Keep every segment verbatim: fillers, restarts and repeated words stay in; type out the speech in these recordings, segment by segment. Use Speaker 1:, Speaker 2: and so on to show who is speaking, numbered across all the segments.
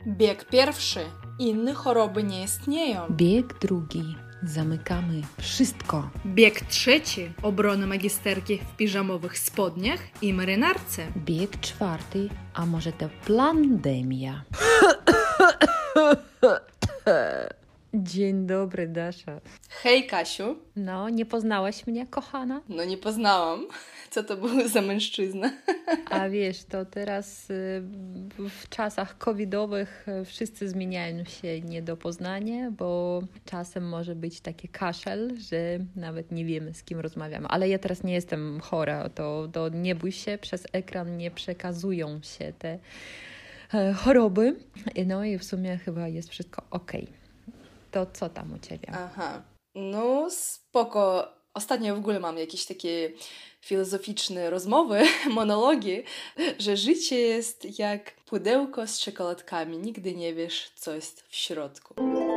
Speaker 1: Bieg pierwszy. Inne choroby nie istnieją.
Speaker 2: Bieg drugi. Zamykamy wszystko.
Speaker 1: Bieg trzeci. Obrona magisterki w piżamowych spodniach i marynarce.
Speaker 2: Bieg czwarty. A może to pandemia? Dzień dobry, Dasza.
Speaker 1: Hej, Kasiu.
Speaker 2: No, nie poznałaś mnie, kochana?
Speaker 1: No nie poznałam. Co to był za mężczyzna?
Speaker 2: A wiesz, to teraz y, w czasach covidowych y, wszyscy zmieniają się nie do poznania, bo czasem może być taki kaszel, że nawet nie wiemy, z kim rozmawiamy. Ale ja teraz nie jestem chora, to, to nie bój się, przez ekran nie przekazują się te e, choroby. No i w sumie chyba jest wszystko okej. To co tam u Ciebie?
Speaker 1: Aha, no spoko. Ostatnio w ogóle mam jakieś takie filozoficzne rozmowy, monologi, że życie jest jak pudełko z czekoladkami. Nigdy nie wiesz, co jest w środku.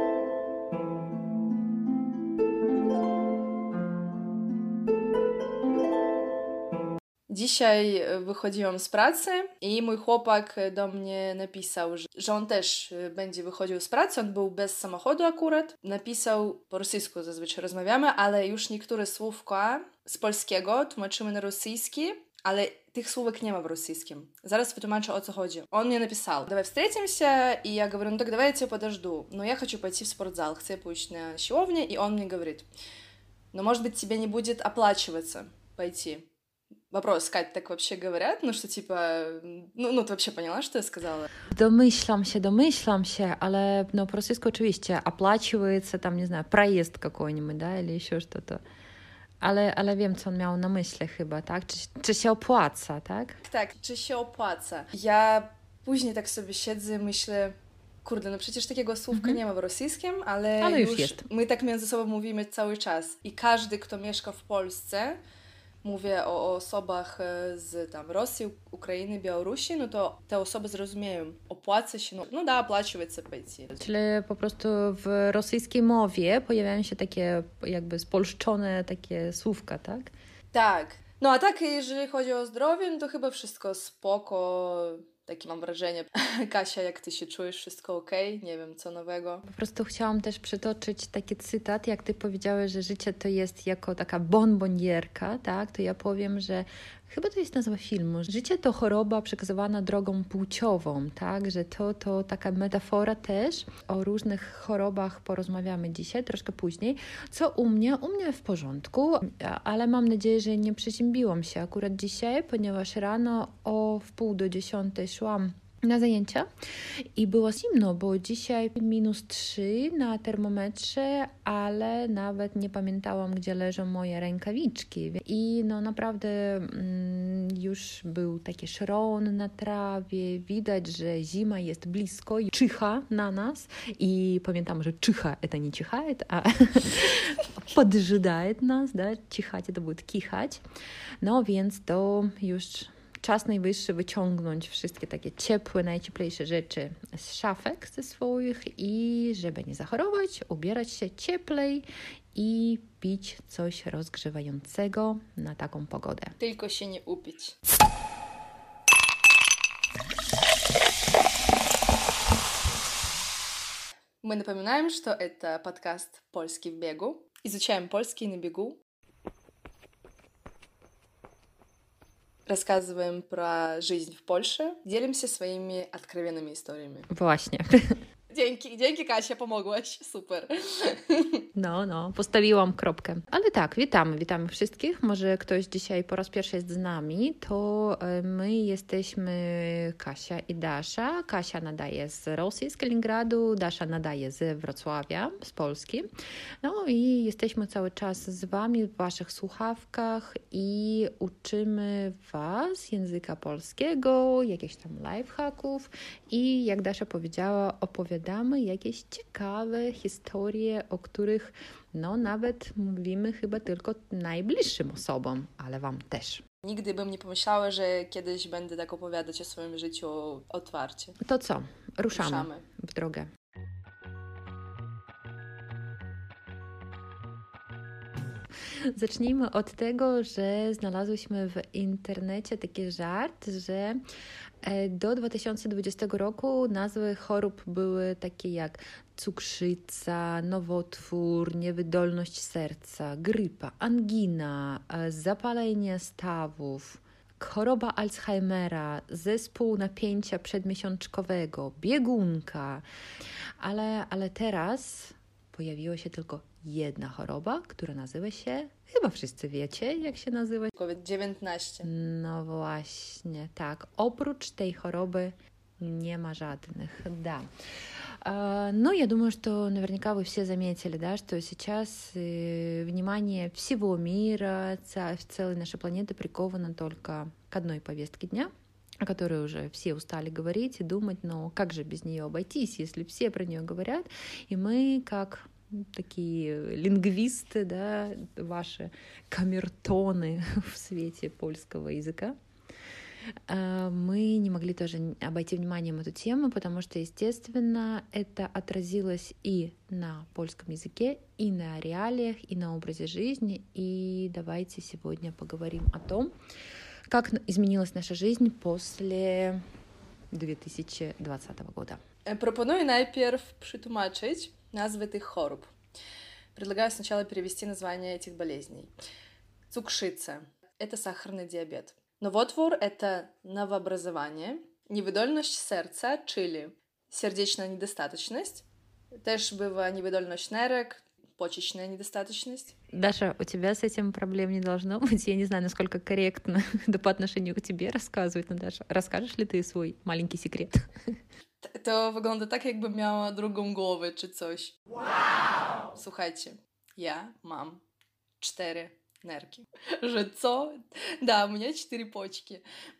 Speaker 1: Dzisiaj wychodziłam z pracy i mój chłopak do mnie napisał, że, że on też będzie wychodził z pracy. On był bez samochodu akurat. Napisał, po rosyjsku zazwyczaj rozmawiamy, ale już niektóre słówka z polskiego tłumaczymy na rosyjski, ale tych słówek nie ma w rosyjskim. Zaraz wytłumaczę, o co chodzi. Он мне написал: давай встретимся, и я говорю, ну так давай я тебя подожду. Но я хочу пойти в спортзал, хочу пойти на siłownię, и он мне говорит, ну может быть тебе не будет оплачиваться пойти. Вопрос, Кать, так вообще говорят? Ну, что типа... Ну, ну, ты вообще поняла, что я сказала?
Speaker 2: Domyślam się, domyślam się, ale no, po rosyjsku oczywiście оплачивается, там, не знаю, проезд какой-нибудь, да, или еще что-то. Ale, ale wiem, co on miał na myśli chyba, tak? Czy, czy się opłaca, tak?
Speaker 1: Tak, czy się opłaca. Ja później tak sobie siedzę i myślę, kurde, no przecież takiego słówka
Speaker 2: Mhm.
Speaker 1: nie ma w rosyjskim, ale,
Speaker 2: Ale już
Speaker 1: już
Speaker 2: jest.
Speaker 1: my tak między sobą mówimy cały czas. I każdy, kto mieszka w Polsce, mówię o, o osobach z tam Rosji, Ukrainy, Białorusi, no to te osoby zrozumieją, opłaca się, no, no da, оплачивается пойти.
Speaker 2: Czyli po prostu w rosyjskiej mowie pojawiają się takie jakby spolszczone takie słówka, tak?
Speaker 1: Tak. No a tak, jeżeli chodzi o zdrowie, no to chyba wszystko spoko. Takie mam wrażenie. Kasia, jak ty się czujesz? Wszystko okej? Nie wiem, co nowego?
Speaker 2: Po prostu chciałam też przytoczyć taki cytat, jak ty powiedziałeś, że życie to jest jako taka bonbonierka, tak? To ja powiem, że chyba to jest nazwa filmu. Życie to choroba przekazywana drogą płciową, tak? Że to, to taka metafora też. O różnych chorobach porozmawiamy dzisiaj, troszkę później. Co u mnie? U mnie w porządku, ale mam nadzieję, że nie przeziębiłam się akurat dzisiaj, ponieważ rano o wpół do dziesiątej szłam na zajęcia i było zimno, bo dzisiaj minus trzy na termometrze, ale nawet nie pamiętałam, gdzie leżą moje rękawiczki. I no naprawdę mm, już był taki szron na trawie, widać, że zima jest blisko i czyha na nas. I pamiętam, że czyha, to nie чихает, a поджидает nas, да? Чихать to будет kichać. No więc to już czas najwyższy wyciągnąć wszystkie takie ciepłe, najcieplejsze rzeczy z szafek ze swoich i żeby nie zachorować, ubierać się cieplej i pić coś rozgrzewającego na taką pogodę.
Speaker 1: Tylko się nie upić. Мы напоминаем, что это подкаст «Польский в бегу». Изучаем польский на бегу. Рассказываем про жизнь в Польше, делимся своими откровенными историями.
Speaker 2: Właśnie.
Speaker 1: Dzięki, dzięki Kasia, pomogłaś, super.
Speaker 2: No, no, postawiłam kropkę. Ale tak, witamy, witamy wszystkich. Może ktoś dzisiaj po raz pierwszy jest z nami, to my jesteśmy Kasia i Dasza. Kasia nadaje z Rosji, z Kaliningradu, Dasza nadaje z Wrocławia, z Polski. No i jesteśmy cały czas z Wami w Waszych słuchawkach i uczymy Was języka polskiego, jakichś tam lifehacków i jak Dasza powiedziała, opowiadamy jakieś ciekawe historie, o których no nawet mówimy chyba tylko najbliższym osobom, ale Wam też.
Speaker 1: Nigdy bym nie pomyślała, że kiedyś będę tak opowiadać o swoim życiu otwarcie.
Speaker 2: To co? Ruszamy,
Speaker 1: Ruszamy.
Speaker 2: w drogę. Zacznijmy od tego, że znalazłyśmy w internecie taki żart, że do dwa tysiące dwudziestego roku nazwy chorób były takie jak cukrzyca, nowotwór, niewydolność serca, grypa, angina, zapalenie stawów, choroba Alzheimera, zespół napięcia przedmiesiączkowego, biegunka. Ale, ale teraz pojawiła się tylko jedna choroba, która nazywa się, chyba wszyscy wiecie, jak się nazywa.
Speaker 1: COVID dziewiętnaście.
Speaker 2: No właśnie, tak. Oprócz tej choroby не ма жадных, да. Но я думаю, что наверняка вы все заметили, да, что сейчас внимание всего мира, целой нашей планеты приковано только к одной повестке дня, о которой уже все устали говорить и думать, но как же без нее обойтись, если все про нее говорят, и мы, как такие лингвисты, да, ваши камертоны в свете польского языка, мы не могли тоже обойти вниманием эту тему, потому что, естественно, это отразилось и на польском языке, и на реалиях, и на образе жизни. И давайте сегодня поговорим о том, как изменилась наша жизнь после две тысячи двадцатого года.
Speaker 1: Пропоную najpierw przetłumaczyć nazwy tych chorób. Предлагаю сначала перевести название этих болезней. Cukrzyca – это сахарный диабет. Nowotwór – это новообразование. Niewydolność serca, czyli сердечная недостаточность. Też bywa niewydolność nerek, почечная недостаточность.
Speaker 2: Даша, у тебя с этим проблем не должно быть. Я не знаю, насколько корректно это по отношению к тебе рассказывать, но, Даша, расскажешь ли ты свой маленький секрет?
Speaker 1: To wygląda tak, jakbym miała drugą głowę czy coś. Wow! Słuchajcie, ja mam cztery nerki. Że co? Да, у меня четыре почки.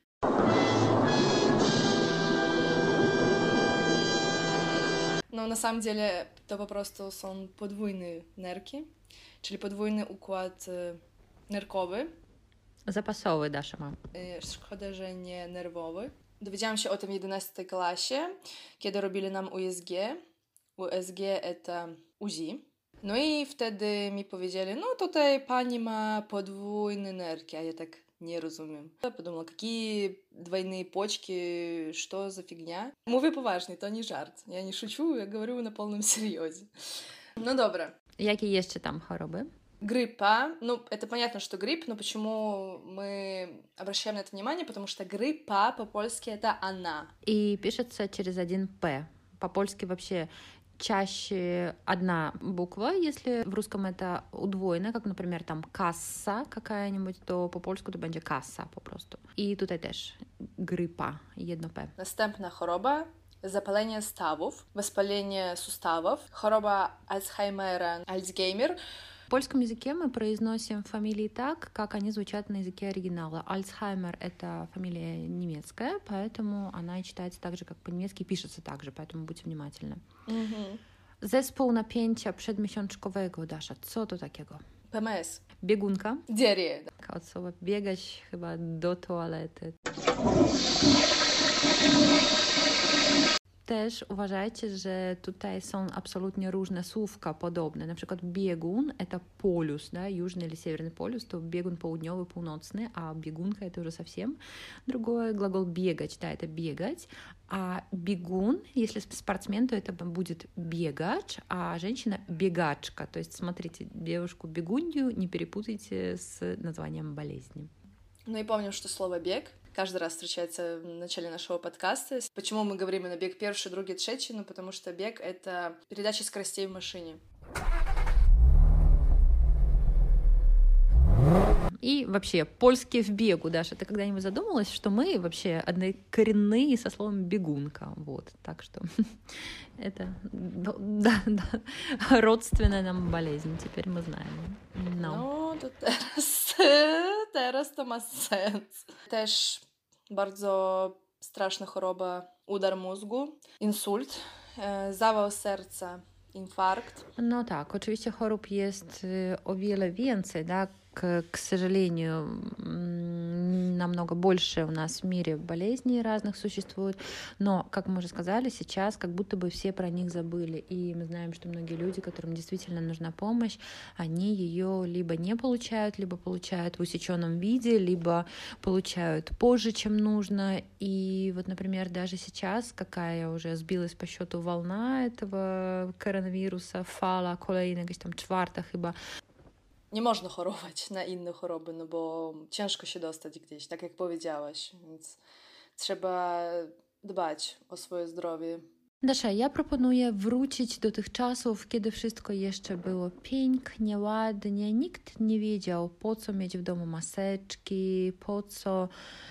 Speaker 1: No, na samym деле to po prostu są podwójne nerki, czyli podwójny układ nerkowy.
Speaker 2: Zapasowy, Dasza ma.
Speaker 1: Szkoda, że nie nerwowy. Dowiedziałam się o tym w jedenastej klasie, kiedy robili nam U S G. U S G to U Z I. No i wtedy mi powiedzieli, no tutaj pani ma podwójne nerki, a ja tak nie rozumiem. Я подумала, какие двойные почки, что за фигня? Mówię poważnie, to nie żart. Ja nie шучу, я говорю на полном серьезе. Ну, добро.
Speaker 2: Jakie jeszcze tam choroby?
Speaker 1: Гриппа. Ну, это понятно, что грипп, но почему мы обращаем на это внимание? Потому что гриппа по-польски это она.
Speaker 2: И пишется через один «п». По-польски вообще чаще одна буква, если в русском это удвоено, как, например, там касса какая-нибудь, то по-польsku to będzie kasa po prostu. I tutaj też grypa, jedno P.
Speaker 1: Następna choroba, zapalenie stawów, wоспаление суставов, choroba Alzheimera, Alzheimer.
Speaker 2: В польском языке мы произносим фамилии так, как они звучат на языке оригинала. Альцхаймер — это фамилия немецкая, поэтому она и читается так же, как по-немецки, и пишется так же, поэтому будьте внимательны. Mm-hmm. Zespół napięcia przedmiesiączkowego, Dasza, co to takiego?
Speaker 1: P M S.
Speaker 2: Biegunka?
Speaker 1: Diareja.
Speaker 2: Od słowa biegać chyba do toalety. Też uważajcie, że tutaj są absolutnie różne słówka podobne. Na przykład biegun — это полюс, да, южный или северный полюс, то бегун południowy, północny, а бегунка — это уже совсем другое. Глагол бегать, да, это бегать, а бегун, если спортсмен, то это будет бегач, а женщина — бегачка. То есть смотрите, девушку-бегунью не перепутайте с названием болезни.
Speaker 1: Ну и помним, что слово «бег» каждый раз встречается в начале нашего подкаста. Почему мы говорим именно бег первый, другой, третий? Ну, потому что бег — это передача скоростей в машине.
Speaker 2: И вообще, польский в бегу, Даша, ты когда-нибудь задумалась, что мы вообще однокоренные со словом «бегунка», вот, так что это, да, да, родственная нам болезнь, теперь мы знаем. No.
Speaker 1: No, to teraz, teraz to ma sens. Też bardzo straszna choroba, udar mózgu, insult, zawał serca, infarkt.
Speaker 2: No tak, oczywiście chorób jest o wiele więcej, да, к, к сожалению, намного больше у нас в мире болезней разных существует, но, как мы уже сказали, сейчас как будто бы все про них забыли, и мы знаем, что многие люди, которым действительно нужна помощь, они ее либо не получают, либо получают в усеченном виде, либо получают позже, чем нужно, и вот, например, даже сейчас, какая уже сбилась по счету волна этого коронавируса, fala kolejna, jakaś tam czwarta chyba.
Speaker 1: Nie można chorować na inne choroby, no bo ciężko się dostać gdzieś, tak jak powiedziałaś, więc trzeba dbać o swoje zdrowie.
Speaker 2: Dasza, ja proponuję wrócić do tych czasów, kiedy wszystko jeszcze było pięknie, ładnie. Nikt nie wiedział, po co mieć w domu maseczki, po co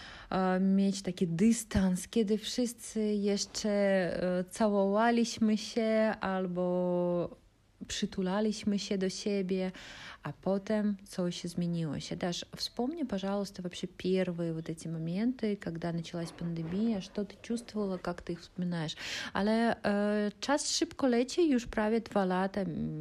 Speaker 2: e, mieć taki dystans, kiedy wszyscy jeszcze e, całowaliśmy się albo przytulaliśmy się do siebie, а потом coś изменилось. Даш, вспомни, пожалуйста, вообще первые вот эти моменты, когда началась пандемия, что ты чувствовала, как ты их вспоминаешь. Ale e, czas szybko leci, już prawie dwa lata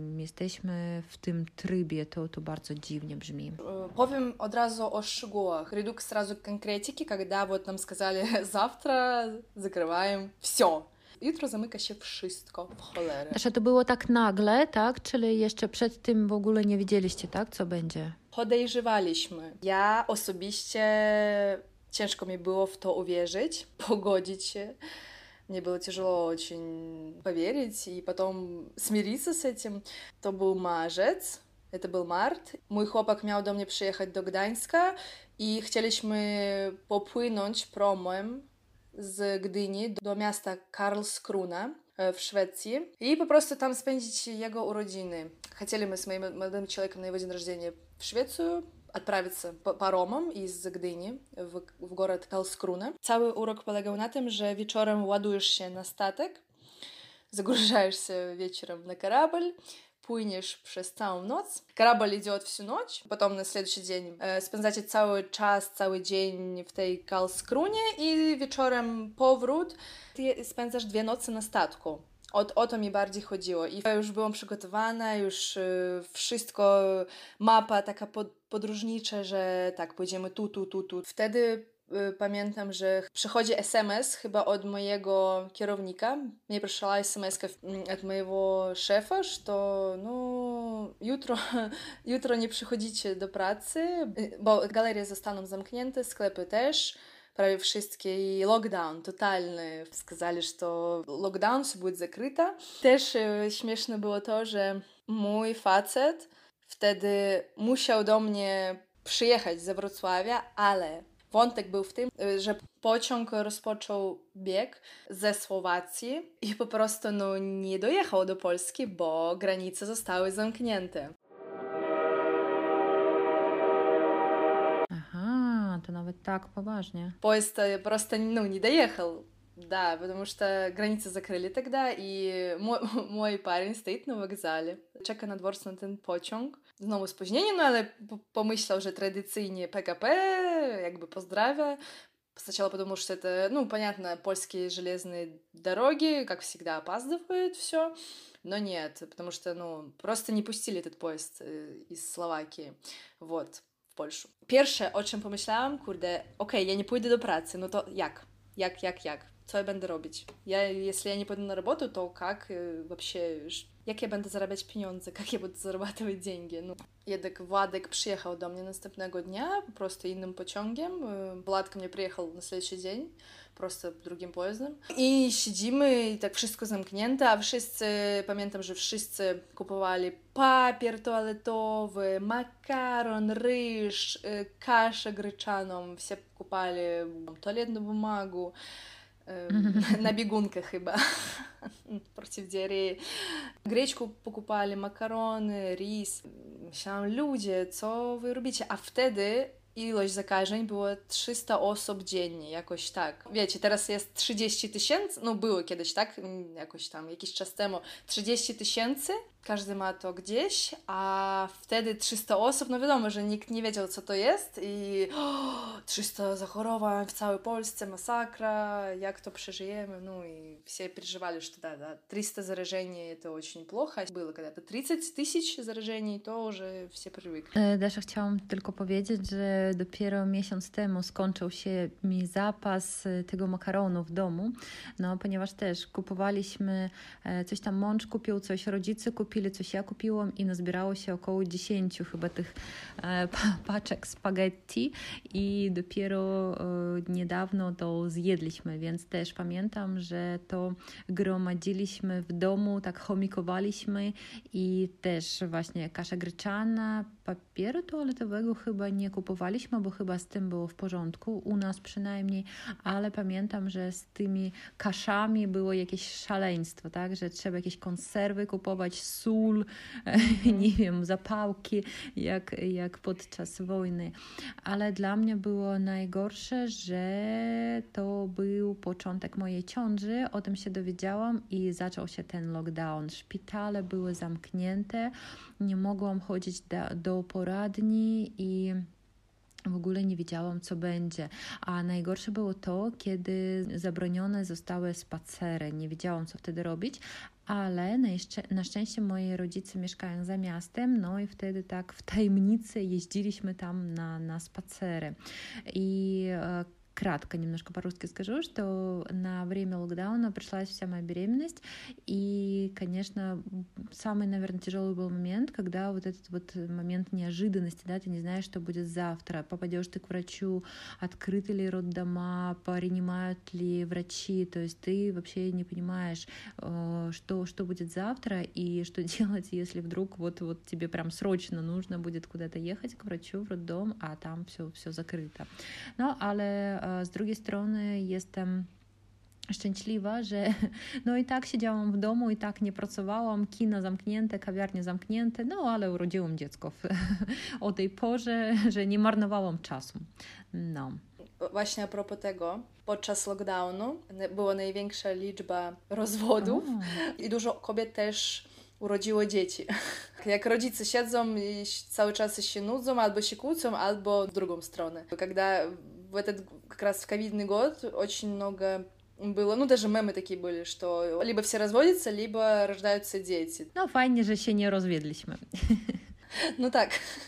Speaker 2: jesteśmy w tym trybie, to, to bardzo dziwnie brzmi.
Speaker 1: Powiem od razu o szczegółach. Приду сразу к конкретике, когда вот нам сказали завтра закрываем все. Jutro zamyka się wszystko, w cholerę.
Speaker 2: Dasza, to było tak nagle, tak? Czyli jeszcze przed tym w ogóle nie wiedzieliście, tak? Co będzie?
Speaker 1: Podejrzewaliśmy. Ja osobiście ciężko mi było w to uwierzyć, pogodzić się. Мне было тяжело очень поверить и потом смириться с этим. To był marzec, to był mart. Mój chłopak miał do mnie przyjechać do Gdańska i chcieliśmy popłynąć promem z Gdyni do miasta Karlskrona w Szwecji i po prostu tam spędzić jego urodziny. Chcieliśmy z moim młodym człowiekiem na jego dzień рождения w Szwecję отправиться паромом из Gdyni w, w город Karlskrona. Cały urok polegał na tym, że wieczorem ładujesz się na statek, загружаешь się wieczorem na kорабль, płyniesz przez całą noc. Kорабль идет всю ночь, потом на следующий день e, spędzacie cały czas, cały dzień w tej Karlskronie i wieczorem powrót. Ty spędzasz dwie noce na statku. O, o to mi bardziej chodziło. I ja już byłam przygotowana, już y, wszystko, mapa taka pod, podróżnicza, że tak, pójdziemy tu, tu, tu, tu. Wtedy y, pamiętam, że przychodzi es em es chyba od mojego kierownika. Mnie przyszła es em es od mojego szefa, że no jutro, jutro nie przychodzicie do pracy, bo galerie zostaną zamknięte, sklepy też. Prawie wszystkie i lockdown totalny. Сказали, что lockdown, все будет закрыто. Też e, śmieszne było to, że mój facet wtedy musiał do mnie przyjechać ze Wrocławia, ale wątek był w tym, że pociąg rozpoczął bieg ze Słowacji i po prostu no, nie dojechał do Polski, bo granice zostały zamknięte.
Speaker 2: To nawet так poważnie.
Speaker 1: Поезд просто ну, не доехал, да, потому что границы закрыли тогда, и мой, мой парень стоит на вокзале, czeka na dworcu na ten pociąg. Znowu spóźnienie, no ale pomyślał, że tradycyjnie пэ ка пэ, jakby pozdrawia. Сначала подумал, что это, ну, понятно, польские железные дороги, как всегда, опаздывают все, но нет, потому что, ну, просто не пустили этот поезд из Словакии, вот. W Polsce. Pierwsze, o czym pomyślałam, kurde, okej, okay, ja nie pójdę do pracy, no to jak? Jak, jak, jak? Co ja będę robić? Ja, jeśli ja nie pójdę na robotę, to jak вообще, jak ja będę zarabiać pieniądze, jak ja będę zarabiać деньги? No. Jednak Władek przyjechał do mnie następnego dnia, po prostu innym pociągiem. Władek mnie przyjechał na следующий dzień, просто drugim pojazdem. I siedzimy i tak wszystko zamknięte, a wszyscy, pamiętam, że wszyscy kupowali papier toaletowy, makaron, ryż, kaszę gryczaną, все покупали туалетную бумагу, на бегунках chyba, против диареи. Гречку покупали, макароны, рис. Myślałam, ludzie, co wy robicie? A wtedy ilość zakażeń było trzysta osób dziennie, jakoś tak. Wiecie, teraz jest trzydzieści tysięcy, no było kiedyś, tak? Jakoś tam, jakiś czas temu. trzydzieści tysięcy każdy ma to gdzieś, a wtedy trzysta osób, no wiadomo, że nikt nie wiedział, co to jest i o, trzysta zachorowań w całej Polsce, masakra, jak to przeżyjemy, no i все переживали, что да, да, триста заражений это очень плохо. Было когда-то тридцать тысяч заражений, to уже все привыкли.
Speaker 2: Dasza, chciałam tylko powiedzieć, że dopiero miesiąc temu skończył się mi zapas tego makaronu w domu, no ponieważ też kupowaliśmy coś tam, mąż kupił coś, rodzice kupili coś, ja kupiłam i nazbierało się około dziesięciu chyba tych e, paczek spaghetti i dopiero e, niedawno to zjedliśmy, więc też pamiętam, że to gromadziliśmy w domu, tak chomikowaliśmy i też właśnie kasza gryczana, papieru toaletowego chyba nie kupowaliśmy, bo chyba z tym było w porządku, u nas przynajmniej, ale pamiętam, że z tymi kaszami było jakieś szaleństwo, tak, że trzeba jakieś konserwy kupować, sól, mm. nie wiem, zapałki, jak, jak podczas wojny. Ale dla mnie było najgorsze, że to był początek mojej ciąży, o tym się dowiedziałam i zaczął się ten lockdown. Szpitale były zamknięte, nie mogłam chodzić do, do poradni i w ogóle nie wiedziałam, co będzie. A najgorsze było to, kiedy zabronione zostały spacery. Nie wiedziałam, co wtedy robić, ale na, jeszcze, na szczęście moi rodzice mieszkają za miastem, no i wtedy tak w tajemnicy jeździliśmy tam na, на spacery. I кратко немножко по-русски скажу, что на время локдауна пришлась вся моя беременность, и, конечно, самый, наверное, тяжелый был момент, когда вот этот вот момент неожиданности, да, ты не знаешь, что будет завтра, попадешь ты к врачу, открыты ли роддома, принимают ли врачи, то есть ты вообще не понимаешь, что, что будет завтра и что делать, если вдруг вот, вот тебе прям срочно нужно будет куда-то ехать к врачу в роддом, a tam все, все закрыто. No, ale z drugiej strony jestem szczęśliwa, że no i tak siedziałam w domu, i tak nie pracowałam, kina zamknięte, kawiarnie zamknięte, no ale urodziłam dziecko w, o tej porze, że nie marnowałam czasu. No.
Speaker 1: Właśnie a propos tego, podczas lockdownu była największa liczba rozwodów o. I dużo kobiet też urodziło dzieci. Jak rodzice siedzą i cały czas się nudzą, albo się kłócą, albo w drugą stronę. Когда в этот как раз в ковидный год очень много было, ну даже мемы такие были, что либо все разводятся, либо рождаются дети.
Speaker 2: No fajnie, że się nie rozwiedliśmy.
Speaker 1: No tak.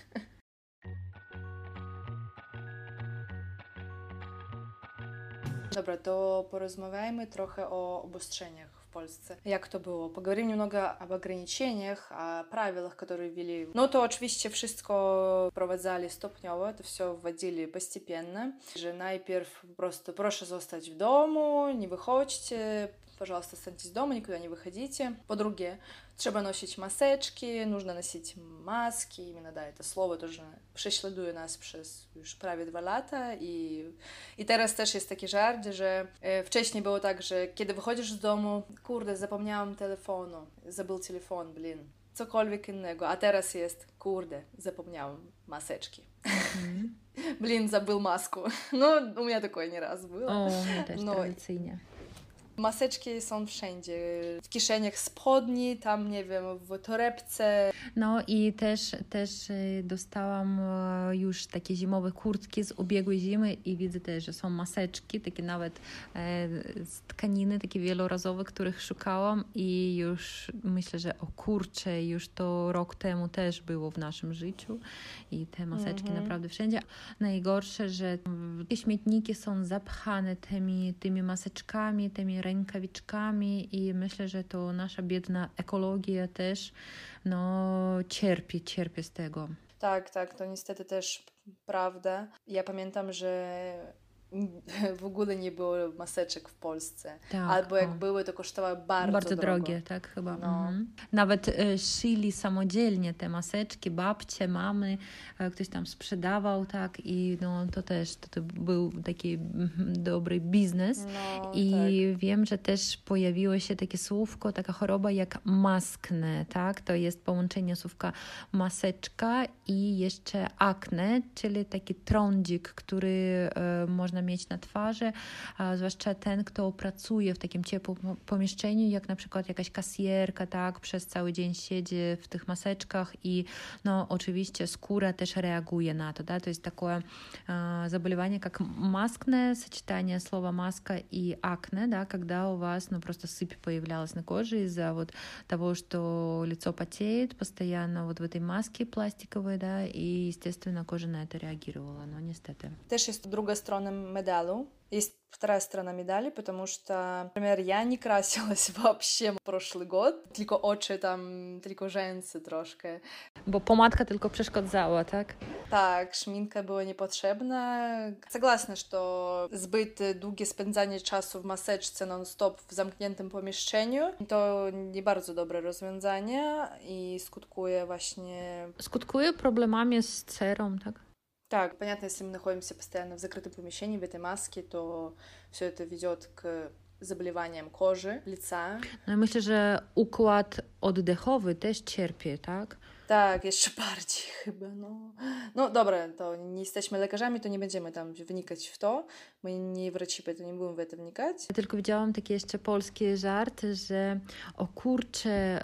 Speaker 1: Dobra, to porozmawiajmy trochę o obostrzeniach w Polsce. Jak to było? Поговорим немного об ограничениях, о правилах, которые ввели. Ну, то oczywiście wszystko wprowadzali stopniowo, to все wwadzili постепенно. Że najpierw просто proszę zostać w domu, nie wychodźcie, пожалуйста, останьтесь дома, никуда не выходите. По-друге, trzeba nosić maseczki, нужно носить маски, именно, да, это слово тоже prześladuje nas przez już prawie dwa lata i, i teraz też jest taki żart, że e, wcześniej było tak, że kiedy wychodzisz z domu, kurde, zapomniałam telefonu, zabył telefon, blin, cokolwiek innego, a teraz jest, kurde, zapomniałam maseczki. Mm. Блин, забыл маску. Ну, у меня такое не раз было.
Speaker 2: O, też no, tradycyjnie.
Speaker 1: Maseczki są wszędzie, w kieszeniach spodni, tam nie wiem, w torebce.
Speaker 2: No i też, też dostałam już takie zimowe kurtki z ubiegłej zimy i widzę też, że są maseczki, takie nawet z tkaniny, takie wielorazowe, których szukałam i już myślę, że o kurczę, już to rok temu też było w naszym życiu i te maseczki mm-hmm. naprawdę wszędzie. Najgorsze, że te śmietniki są zapchane tymi, tymi maseczkami, tymi rękawiczkami i myślę, że to nasza biedna ekologia też no, cierpi, cierpi z tego.
Speaker 1: Tak, tak, to niestety też prawda. Ja pamiętam, że w ogóle nie było maseczek w Polsce. Tak, albo jak o. były, to kosztowały bardzo,
Speaker 2: bardzo
Speaker 1: drogo.
Speaker 2: drogie, tak chyba. No. Mhm. Nawet e, szyli samodzielnie te maseczki, babcie, mamy, e, ktoś tam sprzedawał, tak, i no, to też to, to był taki mm, dobry biznes. No, I tak. wiem, że też pojawiło się takie słówko, taka choroba jak maskne, tak, to jest połączenie słówka maseczka i jeszcze akne, czyli taki trądzik, który e, można mieć na twarzy, a zwłaszcza ten, kto pracuje w takim ciepłym pomieszczeniu, jak na przykład jakaś kasjerka, tak, przez cały dzień siedzi w tych maseczkach i no oczywiście skóra też reaguje na to, да, то есть такое э, заболевание, как маскне, сочетание слова маска и акне, да, когда у вас, ну, просто сыпь появлялась на коже из-за вот того, что лицо потеет постоянно вот в этой маске пластиковой, да, и, естественно, кожа на это реагировала, но niestety.
Speaker 1: Też jest druga strona medalu. Есть вторая сторона медали, потому что, например, я не красилась вообще прошлый год, tylko oczy tam, tylko rzęsy troszkę.
Speaker 2: Bo pomadka tylko przeszkadzała, tak?
Speaker 1: Tak, szminka była niepotrzebna. Согласна, что zbyt długie spędzanie czasu w maseczce non-stop w zamkniętym pomieszczeniu to nie bardzo dobre rozwiązanie i skutkuje właśnie...
Speaker 2: Skutkuje problemami z cerą, tak?
Speaker 1: Так, понятно, если мы находимся постоянно в закрытом помещении, в этой маске, то все это ведет к заболеваниям кожи, лица.
Speaker 2: No i myślę, że układ oddechowy też cierpi, tak?
Speaker 1: Tak, jeszcze bardziej chyba, no. No dobra, to nie jesteśmy lekarzami, to nie będziemy tam wnikać w to. My nie wraci, to nie będziemy w to wnikać.
Speaker 2: Ja tylko widziałam taki jeszcze polski żart, że o kurczę,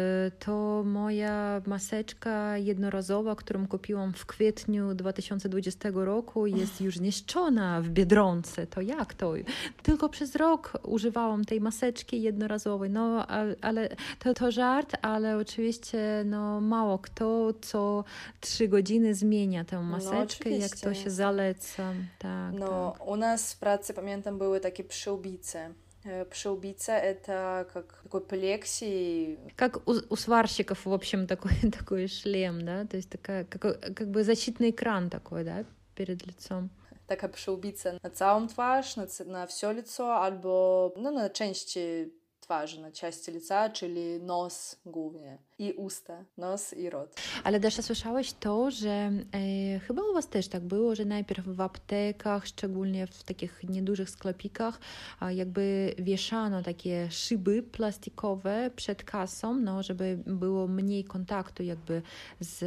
Speaker 2: to moja maseczka jednorazowa, którą kupiłam w kwietniu dwa tysiące dwudziestego roku, jest już zniszczona w Biedronce. To jak to? Tylko przez rok używałam tej maseczki jednorazowej. No, ale to, to żart, ale oczywiście no, mało kto co trzy godziny zmienia tę maseczkę, no, jak to się zaleca. Tak,
Speaker 1: no,
Speaker 2: tak.
Speaker 1: U nas w pracy, pamiętam, były takie przyłbice. Przyłbiца — это как такой плексий.
Speaker 2: Как у, у сварщиков, в общем, такой, такой шлем, да? То есть такая, как, как бы защитный экран такой, да, перед лицом.
Speaker 1: Taka przyłbica na całą twarz, na, na все лицо, albo no, na części twarzy, na części lica, czyli nos głównie i usta, nos i rot.
Speaker 2: Ale Dasza, słyszałeś to, że e, chyba u was też tak było, że najpierw w aptekach, szczególnie w takich niedużych sklepikach, a jakby wieszano takie szyby plastikowe przed kasą, no, żeby było mniej kontaktu jakby z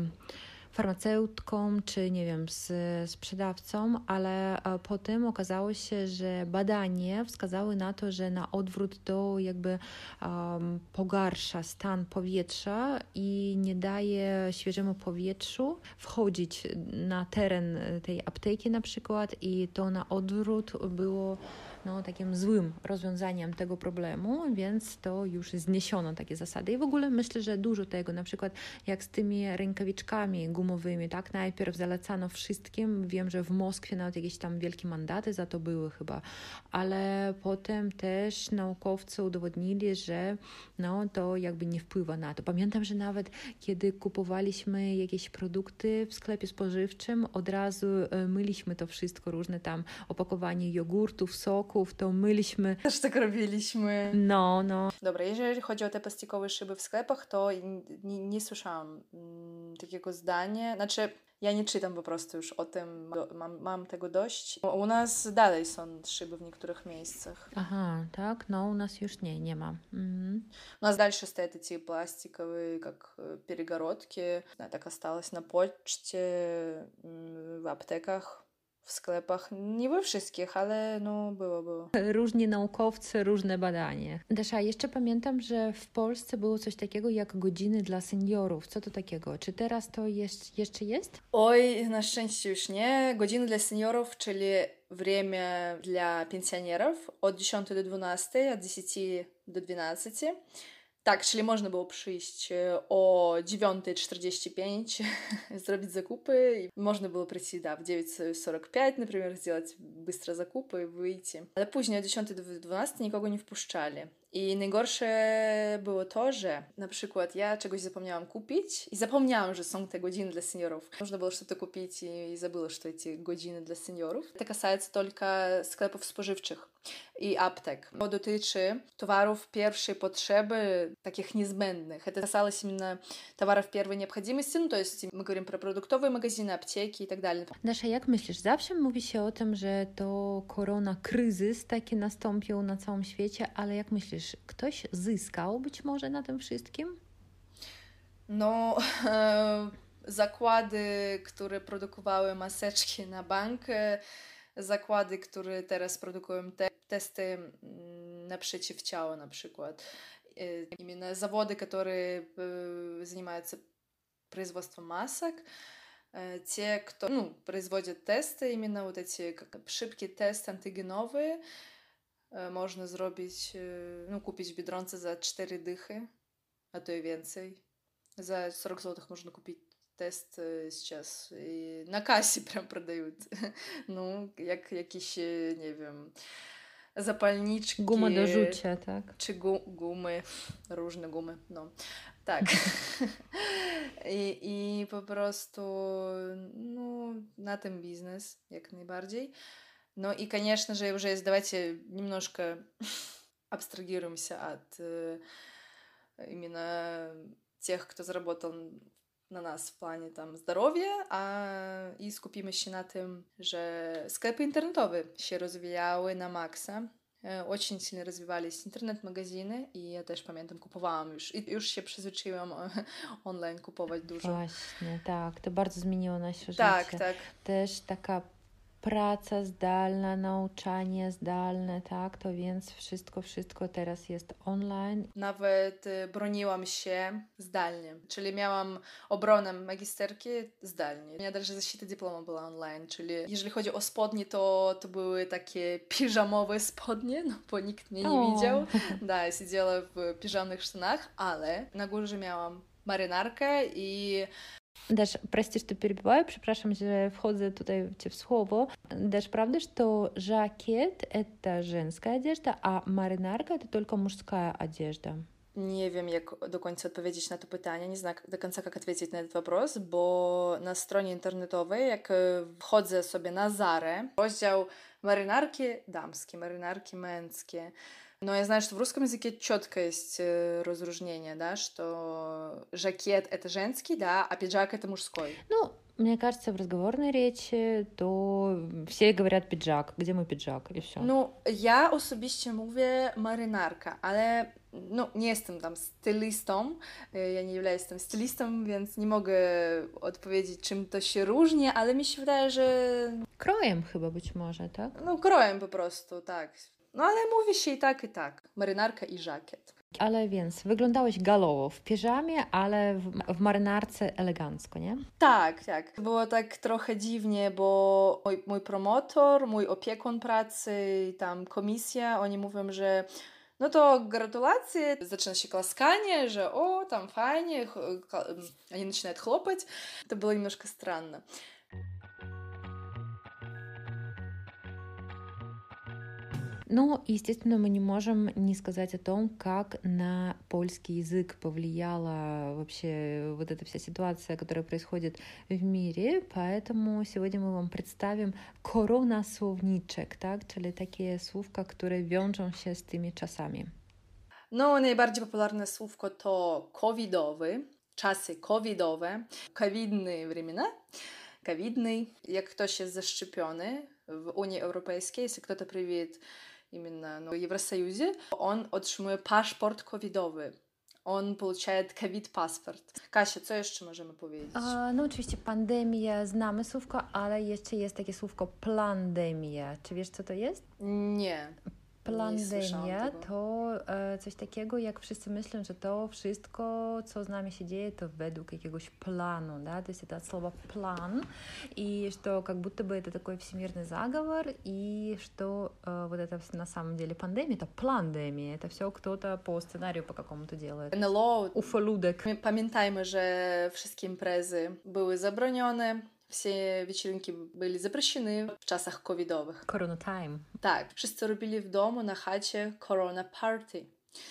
Speaker 2: farmaceutką, czy nie wiem, z sprzedawcą, ale potem okazało się, że badania wskazały na to, że na odwrót to jakby um, pogarsza stan powietrza i nie daje świeżemu powietrzu wchodzić na teren tej apteki na przykład i to na odwrót było no, takim złym rozwiązaniem tego problemu, więc to już zniesiono takie zasady. I w ogóle myślę, że dużo tego, na przykład jak z tymi rękawiczkami gumowymi, tak, najpierw zalecano wszystkim, wiem, że w Moskwie nawet jakieś tam wielkie mandaty za to były chyba, ale potem też naukowcy udowodnili, że no, to jakby nie wpływa na to. Pamiętam, że nawet kiedy kupowaliśmy jakieś produkty w sklepie spożywczym, od razu myliśmy to wszystko, różne tam opakowanie jogurtów, soków, to myliśmy.
Speaker 1: Też tak robiliśmy.
Speaker 2: No, no.
Speaker 1: Dobra, jeżeli chodzi o te plastikowe szyby w sklepach, to nie, nie słyszałam mm, takiego zdania. Znaczy, ja nie czytam po prostu już o tym, mam, mam tego dość. U nas dalej są szyby w niektórych miejscach.
Speaker 2: Aha, tak? No, u nas już nie, nie ma. Mhm.
Speaker 1: У нас дальше стоят эти пластиковые, как перегородки. Так осталось на почте, в аптеках. W sklepach, nie we wszystkich, ale no było, było.
Speaker 2: Różni naukowcy, różne badania. Dasza, jeszcze pamiętam, że w Polsce było coś takiego jak godziny dla seniorów. Co to takiego? Czy teraz to jest, jeszcze jest?
Speaker 1: Oj, na szczęście już nie. Godziny dla seniorów, czyli время для пенсионеров od dziesiątej do dwunastej, od dziesięciu do dwunastu. Tak, czyli można było przyjść o dziewiąta czterdzieści pięć, zrobić zakupy i można było przyjść da, w dziewięć сорок пять, например, сделать быстро zakupy i wyjść. Ale później o dziesiątej do dwunastej nikogo nie wpuszczali. I najgorsze było to, że na przykład ja czegoś zapomniałam kupić i zapomniałam, że są te godziny dla seniorów. Można było что-то kupić i забыла, что эти godziny dla seniorów. To касается только sklepów spożywczych i aptek. To dotyczy towarów pierwszej potrzeby, takich niezbędnych. Это касалось именно товаров первой необходимости, ну, то есть мы говорим про продуктовые магазины, аптеки и так далее.
Speaker 2: Dasza, jak myślisz? Zawsze mówi się o tym, że to korona kryzys taki nastąpił na całym świecie, ale jak myślisz, ktoś zyskał być może na tym wszystkim?
Speaker 1: No, e, zakłady, które produkowały maseczki na bank, zakłady, które teraz produkują te testy mm, na przeciwciała na przykład. Y, Именно заводы, которые э, занимаются производством масок, э, те, кто ну, производит тесты, именно вот эти как szybkie testy antygenowe, э, można zrobić, э, no, kupić w Biedronce za cztery dychy, a to i więcej. За сорок злотых можно купить тест э, сейчас. И на кассе прям продают. Ну, jak jakieś, nie wiem, zapalniczki.
Speaker 2: Guma do rzucia, tak?
Speaker 1: Czy gu, gumy, różne gumy, no. Tak. I, I po prostu, no, на tym biznes, jak najbardziej. Ну и, конечно же, уже есть, давайте немножко абстрагируемся от э, именно тех, кто заработал na nas w planie tam zdrowia, a i skupimy się na tym, że sklepy internetowe się rozwijały na maksa. Очень сильно развивались интернет-магазины, i ja też pamiętam, kupowałam już, i już się przyzwyczaiłam online kupować dużo.
Speaker 2: Właśnie, tak, to bardzo zmieniło nasze
Speaker 1: tak,
Speaker 2: życie.
Speaker 1: Tak, tak.
Speaker 2: Też taka praca zdalna, nauczanie zdalne, tak, to więc wszystko, wszystko teraz jest online.
Speaker 1: Nawet broniłam się zdalnie, czyli miałam obronę magisterki zdalnie. У меня даже защита диплома была онлайн, czyli jeżeli chodzi o spodnie, to, to były takie piżamowe spodnie, no bo nikt mnie nie widział. Да, я сидела в пижамных штанах, ale na górze miałam marynarkę i
Speaker 2: Dasz, прости, что перебиваю, przepraszam, że wchodzę tutaj Cię w słowo. Dasz, правда, что жакет — это женская одежда, а маринарка — это только мужская одежда?
Speaker 1: Nie wiem, jak do końca odpowiedzieć na to pytanie, nie znam do końca, jak odpowiedzieć na ten вопрос, bo na stronie internetowej, jak wchodzę sobie na Zarę, rozdział marynarki damskie, marynarki męskie. Но я знаю, что в русском языке четко есть разрушение, да, что жакет — это женский, да, а пиджак — это мужской.
Speaker 2: Ну, мне кажется, в разговорной речи то все говорят пиджак. Где мой пиджак? И все.
Speaker 1: Ну, ja osobiście mówię marynarka, ale no, nie jestem tam stylistą, ja nie jestem stylistą, więc nie mogę odpowiedzieć, czym to się różni, ale mi się wydaje, że...
Speaker 2: Krojem chyba być może, tak?
Speaker 1: No, krojem po prostu, tak. No ale mówi się i tak, i tak. Marynarka i żakiet.
Speaker 2: Ale więc wyglądałeś galowo w piżamie, ale w, w marynarce elegancko, nie?
Speaker 1: Tak, tak. Było tak trochę dziwnie, bo mój, mój promotor, mój opiekun pracy, tam komisja, oni mówią, że no to gratulacje, zaczyna się klaskanie, że o, tam fajnie, oni начинают хлопать. To było немножко странно.
Speaker 2: Но, естественно, мы не можем не сказать о том, как на польский язык повлияла вообще вот эта вся ситуация, которая происходит в мире, поэтому сегодня мы вам представим koronasłowniczek, tak? Czyli takie słówka, które wiążą się z tymi czasami.
Speaker 1: No, najbardziej popularne słówko to covidowy, czasy covidowe, covidne времена, covidny. Jak ktoś jest zaszczepiony w Unii Europejskiej, jeśli ktoś привит именно ну, в Евросоюзе, он otrzymuje paszport covidowy. On получает COVID-paszport. Kasia, co jeszcze możemy powiedzieć?
Speaker 2: A, no oczywiście pandemia, znamy słówko, ale jeszcze jest takie słówko plandemia. Czy wiesz, co to jest?
Speaker 1: Nie.
Speaker 2: Plandemia to e, coś takiego, jak wszyscy myślą, że to wszystko, co z nami się dzieje, to według jakiegoś planu, да? То есть это от слова план, и что как будто бы это такой всемирный заговор, и что э, вот это на самом деле пандемия, это пlandemia, это все кто-то по сценарию по какому-то делает.
Speaker 1: эн эл о,
Speaker 2: Ufoludek.
Speaker 1: Pamiętajmy, że wszystkie imprezy były zabronione. Все вечеринки были запрещены в czasach covidowych.
Speaker 2: Corona time.
Speaker 1: Tak, wszyscy robili w domu na chacie corona party.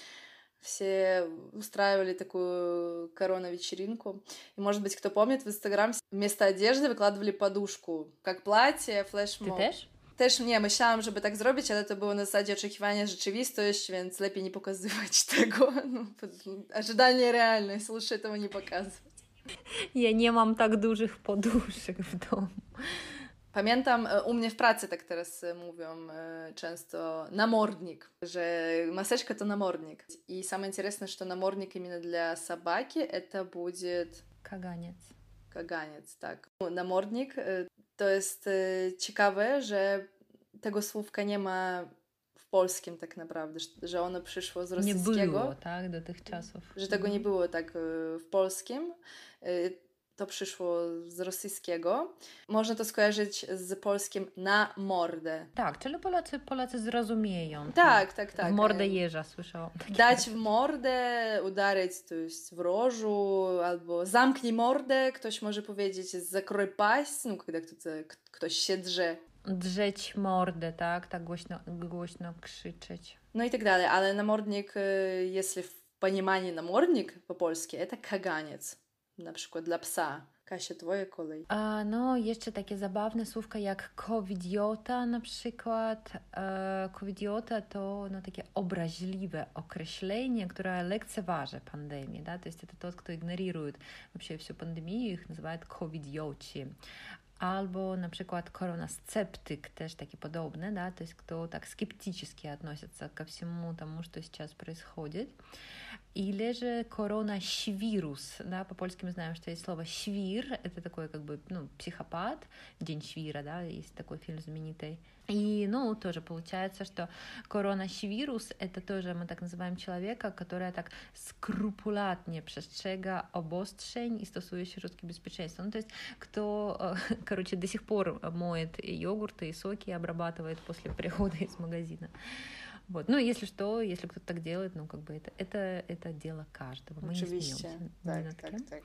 Speaker 1: Все устраивали такую корона-вечеринку. И, может быть, кто помнит, в Инстаграм вместо одежды wykładali подушку, как платье, флешмоб.
Speaker 2: Ty też?
Speaker 1: Też nie, myślałam, żeby tak zrobić, ale to było na zasadzie oczekiwania rzeczywistość, więc lepiej nie pokazywać tego. No, ожидание реальность, лучше этого не показывать.
Speaker 2: Ja nie mam tak dużych poduszek w domu.
Speaker 1: Pamiętam, u mnie w pracy tak teraz mówią często намордник, że maseczka to намордник. И самое интересное, что намордник именно для собаки это будет...
Speaker 2: Kaganiec.
Speaker 1: Kaganiec, tak. Намордник to jest ciekawe, że tego słówka nie ma w polskim tak naprawdę, że ono przyszło z rosyjskiego.
Speaker 2: Nie było, tak, do tych czasów.
Speaker 1: Że tego nie było tak w polskim. To przyszło z rosyjskiego. Można to skojarzyć z polskim na mordę.
Speaker 2: Tak, czyli Polacy, Polacy zrozumieją.
Speaker 1: Tak, tak, tak.
Speaker 2: W mordę jeża słyszałam.
Speaker 1: Dać w mordę, udarzyć, to jest w rożu, albo zamknij mordę, ktoś może powiedzieć zakrój paść, no kiedy ktoś się drze.
Speaker 2: Drzeć mordę, tak? Tak głośno, głośno krzyczeć.
Speaker 1: No i tak dalej, ale namordnik, jeśli w понимании namordnik po polsku, to kaganiec. Na przykład dla psa. Kasia, twoja kolej.
Speaker 2: A, no, jeszcze takie zabawne słówka jak covidiota na przykład. E, covidiota to no, takie obraźliwe określenie, które lekceważy pandemię. Да? То есть это тот, кто игнорирует вообще всю пандемию, их называют covidioci. Albo na przykład koronasceptyk, też taki podobny, да, то есть кто так скептически относится ко всему тому, что сейчас происходит. Или же коронавирус, да, по-польски мы знаем, что есть слово «щвир», это такой как бы, ну, психопат, День Швира, да, есть такой фильм знаменитый. И, ну, тоже получается, что коронавирус — это тоже, мы так называем человека, который так скрупулатnie przestrzega obostrzeń i stosuje środki bezpieczeństwa. Ну, то есть, кто, короче, до сих пор моет йогурты и соки и обрабатывает после прихода из магазина. Вот. Ну, если что, если кто-то так делает, ну, как бы это, это, это дело каждого. Мы не смеемся.
Speaker 1: Tak, tak, tak.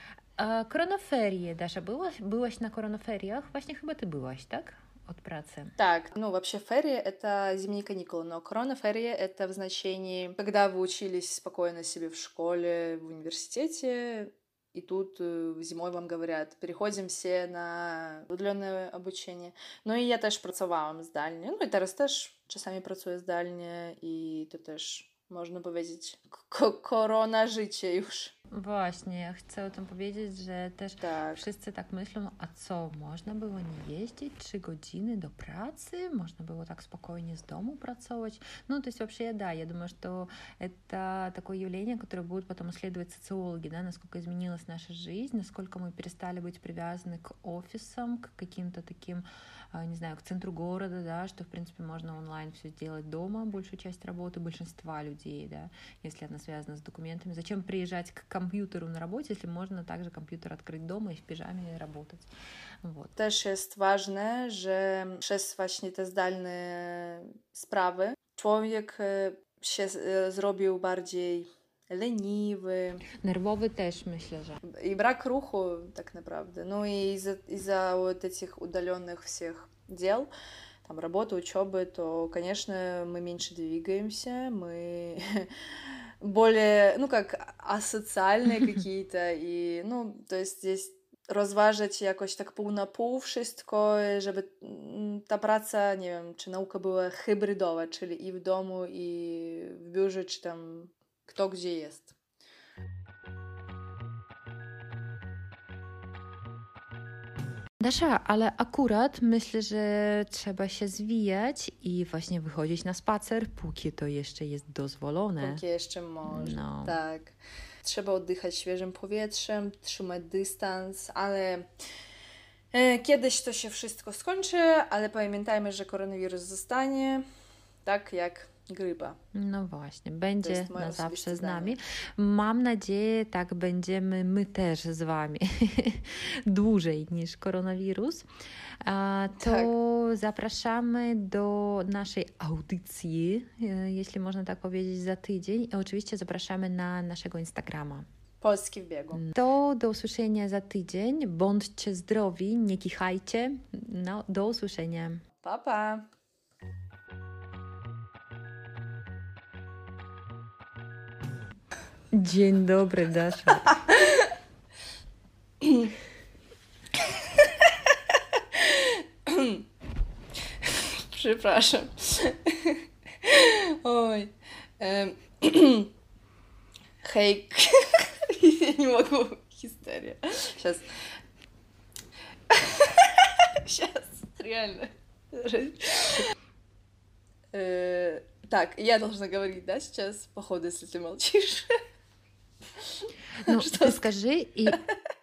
Speaker 2: A koronaferie, Dasza, byłaś, byłaś na koronaferiach? Właśnie chyba ty byłaś, tak? От працы.
Speaker 1: Так, ну вообще ферри — это зимние каникулы, но коронаферри — это в значении, когда вы учились спокойно себе в школе, в университете, и тут зимой вам говорят, переходим все на удаленне обучення. Ну і я теж працювałam здalnie, ну і зараз теж czasami pracuję zdalnie i to też można powiedzieć k- korona życie już.
Speaker 2: Właśnie, ja chcę o tym powiedzieć, że też
Speaker 1: tak.
Speaker 2: wszyscy tak myślą, a co, można było nie jeździć trzy godziny до pracy? Можно было так спокойно с дому pracować? Ну, то есть вообще, да, я думаю, что это такое явление, которое будут потом исследовать социологи, да, насколько изменилась наша жизнь, насколько мы перестали быть привязаны к офисам, к каким-то таким, не знаю, к центру города, да, что, в принципе, можно онлайн все сделать дома, большую часть работы большинства людей, да, если она связана с документами. Зачем приезжать к компьютеру на работе, если можно также компьютер открыть дома i w piżamie работать. Вот.
Speaker 1: Też jest ważne, że przez właśnie te zdalne sprawy człowiek się zrobił bardziej leniwy.
Speaker 2: Nerwowy też, myślę, że.
Speaker 1: I brak ruchu tak naprawdę. No i из-за, из-за вот этих удаленных всех дел, там, работы, учебы, то, конечно, мы меньше двигаемся, мы более, ну, как асоциальные какие-то, i, no, to jest здесь rozważyć jakoś tak pół na pół wszystko, żeby ta praca, nie wiem, czy nauka była hybrydowa, czyli i w domu, i w biurze, czy tam kto gdzie jest.
Speaker 2: Dasza, ale akurat myślę, że trzeba się zwijać i właśnie wychodzić na spacer, póki to jeszcze jest dozwolone.
Speaker 1: Póki jeszcze może,
Speaker 2: no.
Speaker 1: tak. Trzeba oddychać świeżym powietrzem, trzymać dystans, ale e, kiedyś to się wszystko skończy, ale pamiętajmy, że koronawirus zostanie tak jak grypa.
Speaker 2: No właśnie, będzie na zawsze z nami. Mam nadzieję, tak będziemy my też z wami dłużej niż koronawirus. A to tak. Zapraszamy do naszej audycji, jeśli można tak powiedzieć, za tydzień. I oczywiście zapraszamy na naszego Instagrama.
Speaker 1: Polski w biegu.
Speaker 2: To do usłyszenia za tydzień. Bądźcie zdrowi, nie kichajcie. No, do usłyszenia.
Speaker 1: Pa, pa.
Speaker 2: Dzień dobry, Dasza.
Speaker 1: Przepraszam. Oj. Um. Hej. Я не могу. Истерия. Сейчас. Сейчас. Реально. Так, я должна говорить, да, сейчас, походу, если ты молчишь.
Speaker 2: No, ty скажи i...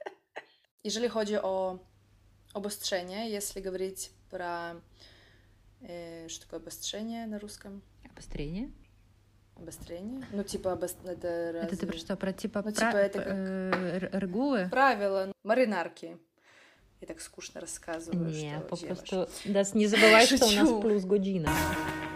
Speaker 1: Jeżeli chodzi o obostrzenie, jeśli говорить про Э, что такое обострение на русском?
Speaker 2: Обострение?
Speaker 1: Обострение? Ну, типа, обос... это разве...
Speaker 2: Это ты про что? Про типа,
Speaker 1: ну,
Speaker 2: пра...
Speaker 1: типа это как...
Speaker 2: э, регулы?
Speaker 1: Правила, маринарки. Я так скучно рассказываю,
Speaker 2: Не,
Speaker 1: что...
Speaker 2: по prostu... Да, не забывай, что у нас плюс година.